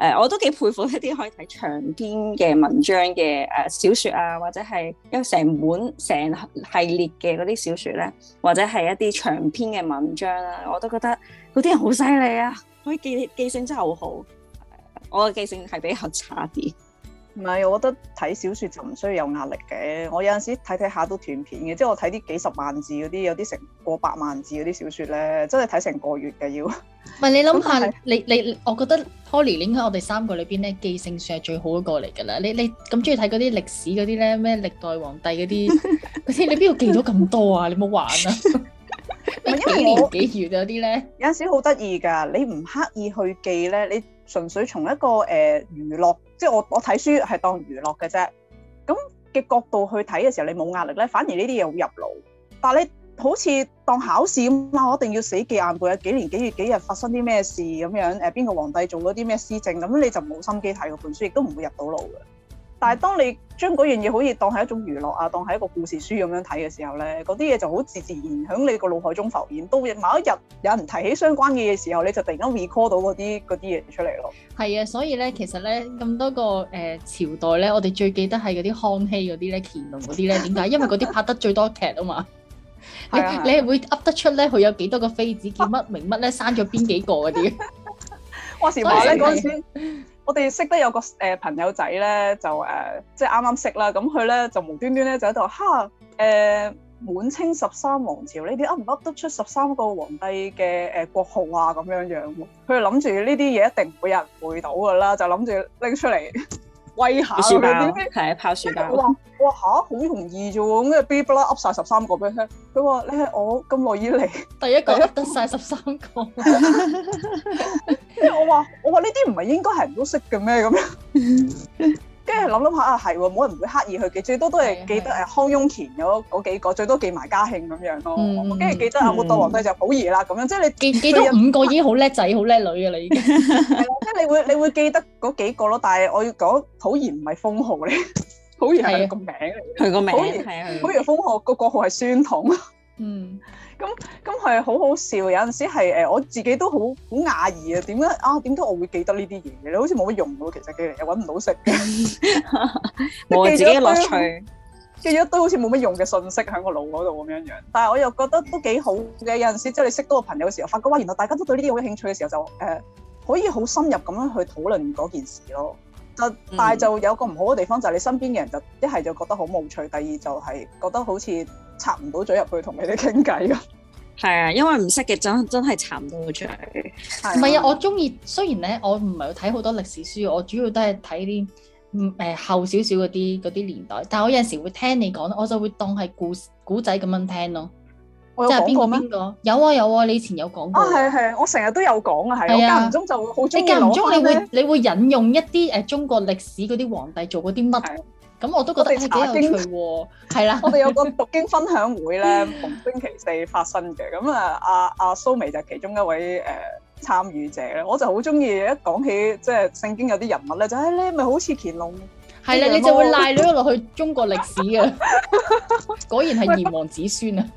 我都幾佩服一啲可以睇長篇嘅文章嘅小説啊，或者係有成本成系列嘅嗰啲小説咧，或者係一啲長篇嘅文章啦，我都覺得嗰啲人好犀利啊，可以記性真係好好。我嘅記性係比較差啲。 唔係，我覺得睇小説就唔需要有壓力嘅。我有陣時睇下都斷片嘅，即係我睇啲幾十萬字嗰啲，有啲成過百萬字嗰啲小説咧，真係睇成個月嘅要。 唔係你諗下，你，我覺得 Holly 應該我哋三個裏邊咧記性算係最好嗰個嚟㗎啦。你咁中意睇嗰啲歷史嗰啲咧，咩歷代皇帝嗰啲，你邊度記到咁多啊？你冇玩啊！幾年幾月嗰啲咧，有陣時好得意㗎。你唔刻意去記咧，你純粹從一個娛樂，即係我睇書係當娛樂嘅啫。咁嘅角度去睇嘅時候，你冇壓力咧，反而呢啲嘢好入腦。但係你好似當考試咁啊，我一定要死記硬背啊！幾年幾月幾日發生啲咩事咁樣？邊個皇帝做咗啲咩施政？咁你就冇心機睇嗰本書，亦都唔會入到腦嘅。但係當你將嗰樣嘢好似當係一種娛樂啊，當係一個故事書咁樣睇嘅時候咧，嗰啲嘢就好自然喺你個腦海中浮現。到某一日有人提起相關嘅嘢時候，你就突然間 recall 到嗰啲嘢出嚟咯。係啊，所以咧其實咧咁多個朝代咧，我哋最記得係嗰啲康熙嗰啲咧、乾隆嗰啲咧。點解？因為嗰啲拍得最多劇啊嘛。你係會噏得出咧，佢有幾多個妃子，叫乜名乜咧，生咗邊幾個嗰啲？ 話時話咧嗰陣時。我哋識得有個朋友仔咧，就即係啱啱識啦。咁佢咧就無端端咧就喺度滿清13王朝，你哋噏唔噏得出13個皇帝嘅國號啊？咁樣樣，佢就諗住呢啲嘢一定唔會有人背到噶啦，就諗住拎出嚟威下佢啲。 係拋書包。 哇嚇，好容易啫喎！咁嘅嗶哩啦噏晒13個俾佢聽。佢話：你係我咁耐以嚟第一個噏得晒13個。 即係我話呢啲唔係應該係人都識嘅咩咁樣？跟住諗下啊，係喎，冇人會刻意去記，最多都係記得康雍乾嗰幾個，最多記埋嘉慶咁樣咯。跟住記得末代皇帝就溥儀啦，咁樣即係你記到5個已經好叻仔、好叻女嘅啦，已經。 係啦，即係你會記得嗰幾個咯。但係我要講溥儀唔係封號嚟，溥儀係個名嚟。 佢個名係啊，溥儀封號個國號係宣統。咁係好好笑，有陣時係我自己都好訝異啊！點解我會記得呢啲嘢嘅？你好似冇乜用喎，其實記嚟又揾唔到食嘅， 冇自己樂趣， 記咗一堆好似冇乜用嘅信息喺個腦嗰度咁樣樣。但係我又覺得都幾好嘅。有陣時即係你識到個朋友嘅時候，發覺哇，原來大家都對呢啲好有興趣嘅時候，就可以好深入咁樣去討論嗰件事咯。但係就有個唔好嘅地方，就係你身邊嘅人就一係就覺得好無趣，第二就係覺得好似插唔到嘴入去同你哋傾偈咁。 係啊，因為唔識嘅真係插唔到嘴。 唔係啊，我中意，雖然咧我唔係睇好多歷史書，我主要都係睇啲後少少嗰啲年代。但係我有陣時會聽你講，我就會當係古仔咁樣聽咯。 我有講過咩？ 有啊，你以前有講過。 係，我成日都有講啊，係。我間唔中就好中意攞。你間唔中你會引用一啲中國歷史嗰啲皇帝做嗰啲乜？咁我都覺得幾有趣喎。係啦， 我哋有個讀經分享會咧，逢星期四發生嘅。咁阿蘇眉就係其中一位參與者咧。我就好中意一講起即係聖經有啲人物咧，就係你咪好似乾隆。 係啦，你就會賴咗落去中國歷史啊！果然係炎黃子孫啊！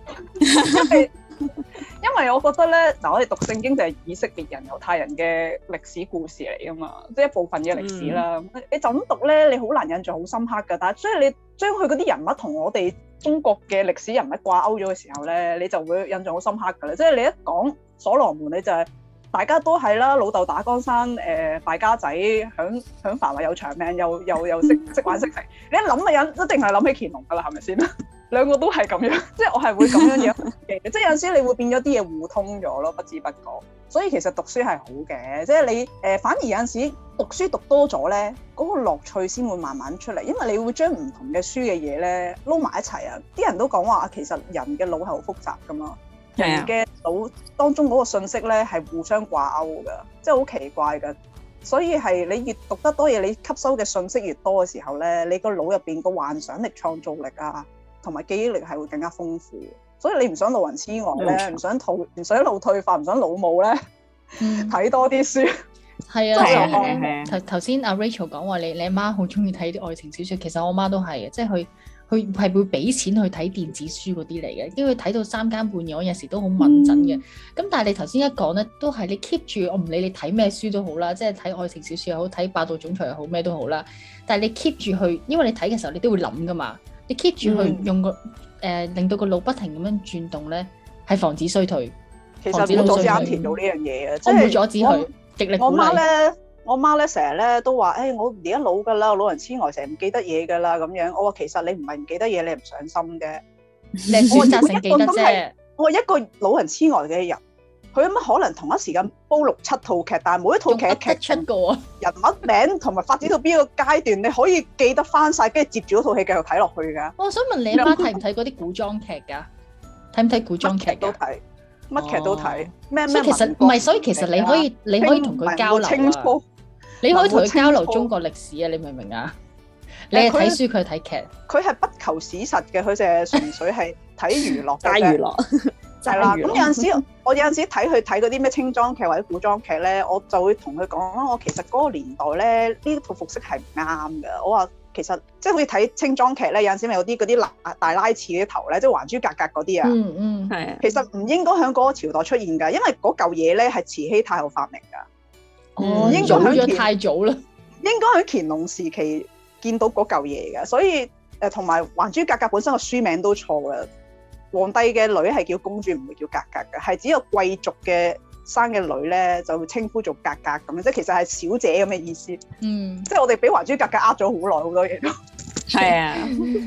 因為我覺得咧，嗱，我哋讀聖經就係以色列人、猶太人嘅歷史故事嚟噶嘛，即係一部分嘅歷史啦。你就咁讀咧，你好難印象好深刻噶。但係所以你將佢嗰啲人物同我哋中國嘅歷史人物掛鈎咗嘅時候咧，你就會印象好深刻噶啦。即係你一講所羅門，你就係大家都係啦，老豆打江山，敗家仔，享繁華有長命，又識玩識食。你一諗嘅人一定係諗起乾隆噶啦，係咪先？兩個都係咁樣，即係我係會咁樣樣嘅，即係有陣時你會變咗啲嘢互通咗咯，不知不覺。所以其實讀書係好嘅，即係你反而有陣時讀書讀多咗咧，嗰個樂趣先會慢慢出嚟，因為你會將唔同嘅書嘅嘢咧撈埋一齊啊！啲人都講話其實人嘅腦係好複雜噶嘛，人嘅腦當中嗰個信息咧係互相掛鈎噶，即係好奇怪噶。所以係你越讀得多嘢，你吸收嘅信息越多嘅時候咧，你個腦入邊個幻想力、創造力啊〜同埋記憶力係會更加豐富，所以你唔想老人痴呆咧，唔想腦退化，唔想老母咧，睇多啲書。 係啊，頭先阿 Rachel 講話你阿媽好中意睇啲愛情小説，其實我媽都係嘅，即係佢係會俾錢去睇電子書嗰啲嚟嘅，因為睇到3更半夜，我有時都好敏感嘅。咁但係你頭先一講咧，都係你 keep 住，我唔理你睇咩書都好啦，即係睇愛情小說又好，睇霸道總裁又好，咩都好啦。但係你 keep 住去，因為你睇嘅時候你都會諗噶嘛，你 keep 住去用個令到個腦不停咁樣轉動咧，係防止衰退。 其實冇阻止啱填到呢樣嘢嘅， 我唔會阻止佢，極力鼓勵。 我媽咧成日咧都話，我而家老㗎啦，老人痴呆成日唔記得嘢㗎啦咁樣。我話其實你唔係唔記得嘢，你係唔上心啫。 我責成記得啫。 我話一個老人痴呆嘅人，佢有乜可能同一時間煲6-7套劇？但係每一套劇嘅劇情、人物名同埋發展到邊一個階段，你可以記得翻晒，跟住接住嗰套戲繼續睇落去㗎。 我想問你阿媽睇唔睇嗰啲古裝劇㗎？睇唔睇古裝劇都睇。乜劇都睇，咩其實唔係，所以其實你可以同佢交流啊。你可以同佢交流中國歷史啊，你明唔明啊？你係睇書，佢係睇劇。 佢係不求史實嘅，佢淨係純粹係睇娛樂嘅啫。 娛樂係啦。咁有陣時，我有陣時睇佢睇嗰啲咩清裝劇或者古裝劇咧，我就會同佢講啦。我其實嗰個年代咧，呢套服飾係唔啱嘅。我話其實即係好似睇清裝劇咧，有陣時咪有啲嗰啲大拉刺嗰啲頭咧，即係還珠格格嗰啲啊。 係啊。 其實唔應該喺嗰個朝代出現㗎，因為嗰嚿嘢咧係慈禧太后發明㗎。應該喺太早啦， 應該喺乾隆時期見到嗰嚿嘢嘅，所以同埋《還珠格格》本身個書名都錯嘅，皇帝嘅女係叫公主，唔會叫格格嘅，係只有貴族嘅生嘅女咧就會稱呼做格格咁樣，即係其實係小姐咁嘅意思。即係我哋俾《還珠格格》呃咗好耐好多嘢都。 係啊。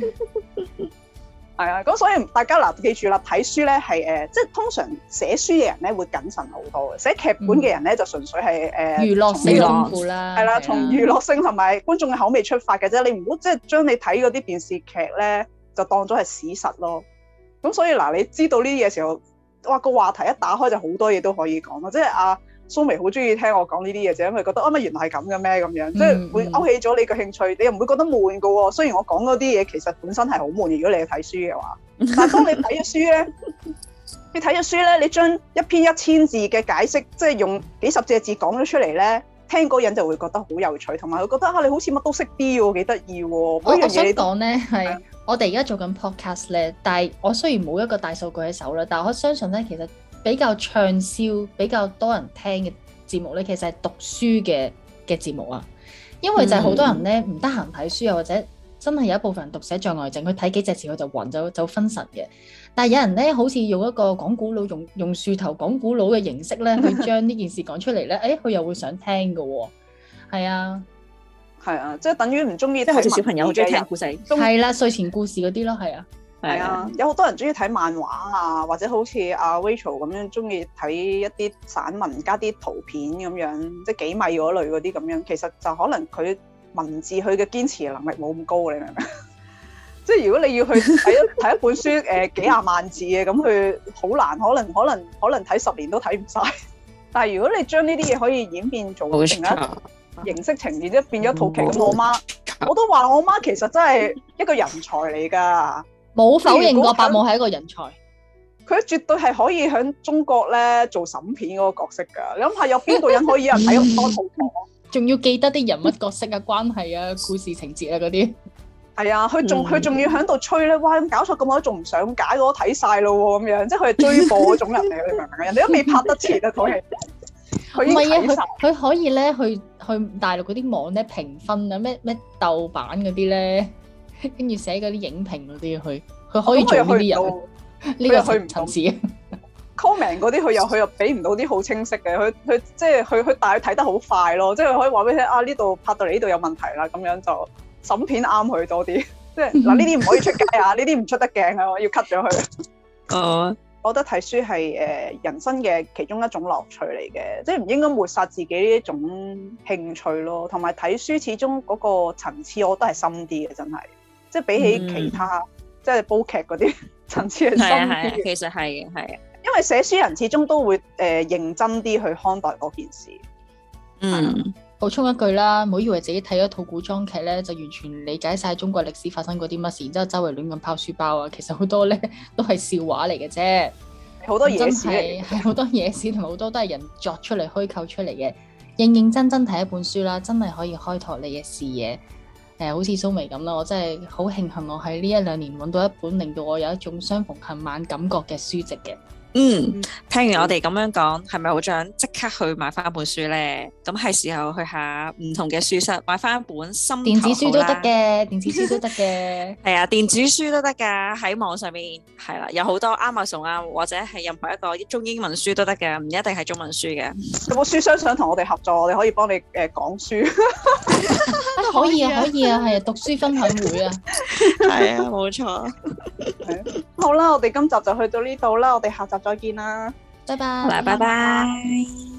係啊，咁所以大家嗱記住啦，睇書咧係即係通常寫書嘅人咧會謹慎好多嘅，寫劇本嘅人咧就純粹係娛樂性豐富啦， 係啦，從娛樂性同埋觀眾嘅口味出發嘅啫，你唔好即係將你睇嗰啲電視劇咧就當咗係史實咯。咁所以嗱，你知道呢啲嘢時候，哇個話題一打開就好多嘢都可以講咯，即係阿蘇眉好中意聽我講呢啲嘢，就因為覺得乜原來係咁嘅咩咁樣，即係會勾起咗你嘅興趣，你又唔會覺得悶㗎喎。雖然我講嗰啲嘢其實本身係好悶，如果你係睇書嘅話，但係當你睇咗書咧，你睇咗書咧，你將一篇1000字嘅解釋，即係用幾十隻字講咗出嚟咧，聽嗰人就會覺得好有趣，同埋佢覺得你好似乜都識啲喎，幾得意喎。 我想講咧係我哋而家做緊 podcast 咧，但係我雖然冇一個大數據喺手啦，但係我相信咧其實比較暢銷、比較多人聽嘅節目咧，其實係讀書嘅節目啊。因為就係好多人咧唔得閒睇書，又或者真係有一部分人讀寫障礙症，佢睇幾隻字佢就暈就分神嘅。但係有人咧好似用一個講古佬用樹頭講古佬嘅形式咧，去將呢件事講出嚟咧，佢又會想聽㗎喎。係啊， 係啊，即係等於唔中意， 即係好似小朋友好中意聽故事， 係啦，睡前故事嗰啲咯，係啊。 係啊，有好多人中意睇漫畫啊，或者好似阿 Rachel 咁樣中意睇一啲散文加啲圖片咁樣，即係幾米嗰類嗰啲咁樣。其實就可能佢文字佢嘅堅持能力冇咁高，你明唔明？即係如果你要去睇一本書幾廿萬字嘅，咁佢好難，可能睇10年都睇唔晒。但係如果你將呢啲嘢可以演變做另一形式呈現，即係變咗套劇咁，我都話我媽其實真係一個人才嚟㗎。 冇否認過伯母係一個人才， 佢絕對係可以喺中國咧做審片嗰個角色㗎。你諗下，有邊個人可以有人睇咁多套劇？ 仲要記得啲人物角色啊、關係啊、故事情節啊嗰啲。 係啊，佢仲要喺度吹咧，哇！咁搞錯咁耐，仲唔上架？我都睇晒咯喎，咁樣即係佢係追播嗰種人嚟，你明唔明？人哋都未拍得切啊，套戲。 唔係啊，佢可以咧去大陸嗰啲網咧評分啊，咩豆瓣嗰啲咧。跟住寫嗰啲影評嗰啲，佢可以做呢啲人，呢個去唔層次。comment 嗰啲佢又俾唔到啲好清晰嘅，佢即係佢大概睇得好快咯，即係佢可以話俾你聽啊，呢度拍到嚟呢度有問題啦，咁樣就審片啱佢多啲。即係嗱，呢啲唔可以出街啊，呢啲唔出得鏡啊，我要 cut 咗佢。我覺得睇書係人生嘅其中一種樂趣嚟嘅，即係唔應該抹殺自己呢一種興趣咯。同埋睇書始終嗰個層次，我覺得係深啲嘅，真係。即係比起其他，即係煲劇嗰啲層次係深啲。其實係因為寫書人始終都會認真啲去看待嗰件事。補充一句啦，唔好以為自己睇一套古裝劇咧，就完全理解晒中國歷史發生過啲乜事，然之後周圍亂咁拋書包啊！其實好多咧都係笑話嚟嘅啫，好多野史係好多野史，同埋好多都係人作出嚟虛構出嚟嘅。認認真真睇一本書啦，真係可以開拓你嘅視野。 好似蘇眉咁啦，我真係好慶幸我喺呢1-2年揾到一本令到我有一種相逢恨晚感覺嘅書籍嘅。 聽完我哋咁樣講，係咪好想即刻去買翻本書咧？咁係時候去下唔同嘅書室買翻一本心頭好啦。 電子書都得嘅，電子書都得嘅。 係啊，電子書都得㗎，喺網上面係啦，有好多 Amazon 啊，或者係任何一個中英文書都得嘅，唔一定係中文書嘅。 有冇書商想同我哋合作？我哋可以幫你講書。 可以啊，係啊，讀書分享會啊。 係啊，冇錯。 好啦，我哋今集就去到呢度啦，我哋下集再見啦， 拜拜。 好啦，拜拜。